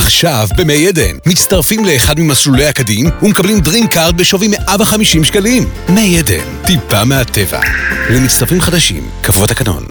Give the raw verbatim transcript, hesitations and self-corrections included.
עכשיו במי עדן. מצטרפים לאחד ממסלולי הקדים ומקבלים דרינק קארד בשווי מאה וחמישים שקלים. מי עדן, טיפה מהטבע. למצטרפים חדשים, קבוע תקנון.